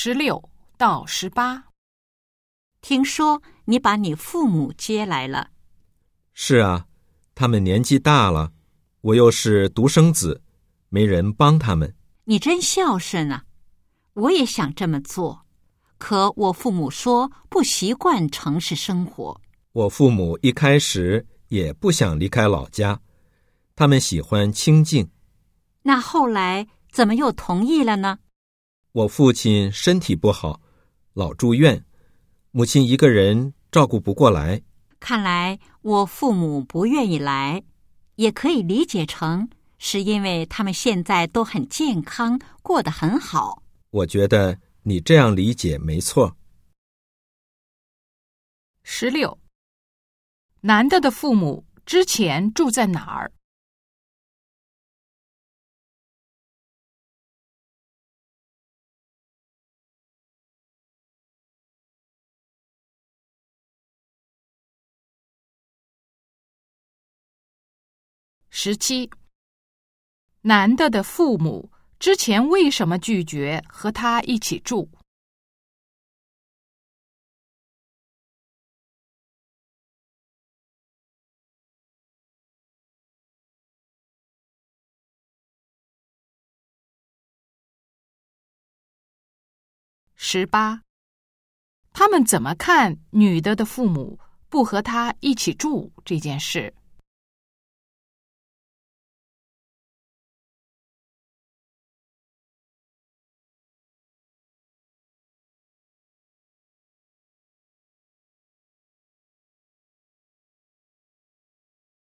16到18。 听说你把你父母接来了。 是啊，他们年纪大了，我又是独生子，没人帮他们。 你真孝顺啊！我也想这么做，可我父母说不习惯城市生活。 我父母一开始也不想离开老家，他们喜欢清静。 那后来怎么又同意了呢？ 我父亲身体不好，老住院，母亲一个人照顾不过来。 看来我父母不愿意来，也可以理解成是因为他们现在都很健康，过得很好。 我觉得你这样理解没错。 16，男的父母之前住在哪儿？17，男的父母之前为什么拒绝和他一起住？18，他们怎么看女的父母不和他一起住这件事？